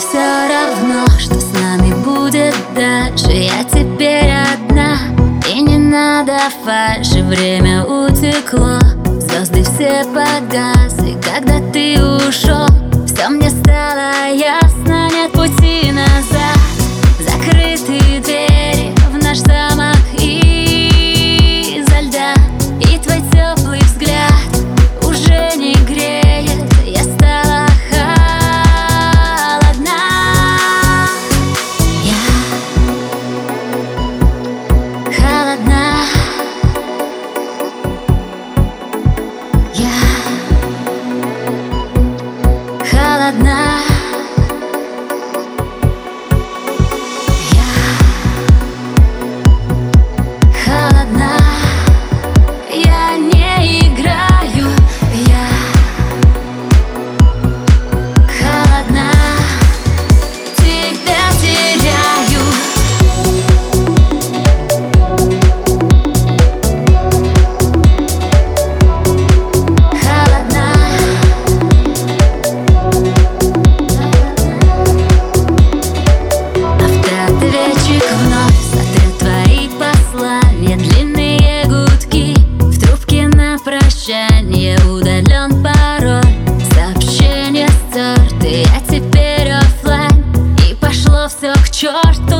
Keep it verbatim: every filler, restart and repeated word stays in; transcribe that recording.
все равно, что с нами будет дальше. Я теперь одна, и не надо фальши. Время утекло, звезды все погасли, когда ты ушел. Все мне стало ясно, нет пути назад. Закрытые двери в наш замок изо льда, и твой теплый взгляд уже не греет. Я стала холодна. Я холодна. Я холодна. Я не играю, я холодна, тебя теряю. Холодна. Автоответчик вновь сотрет твои послания. Длинные гудки в трубке на прощание. Удален пароль, сообщение стерты. Я теперь оффлайн, и пошло все к черту.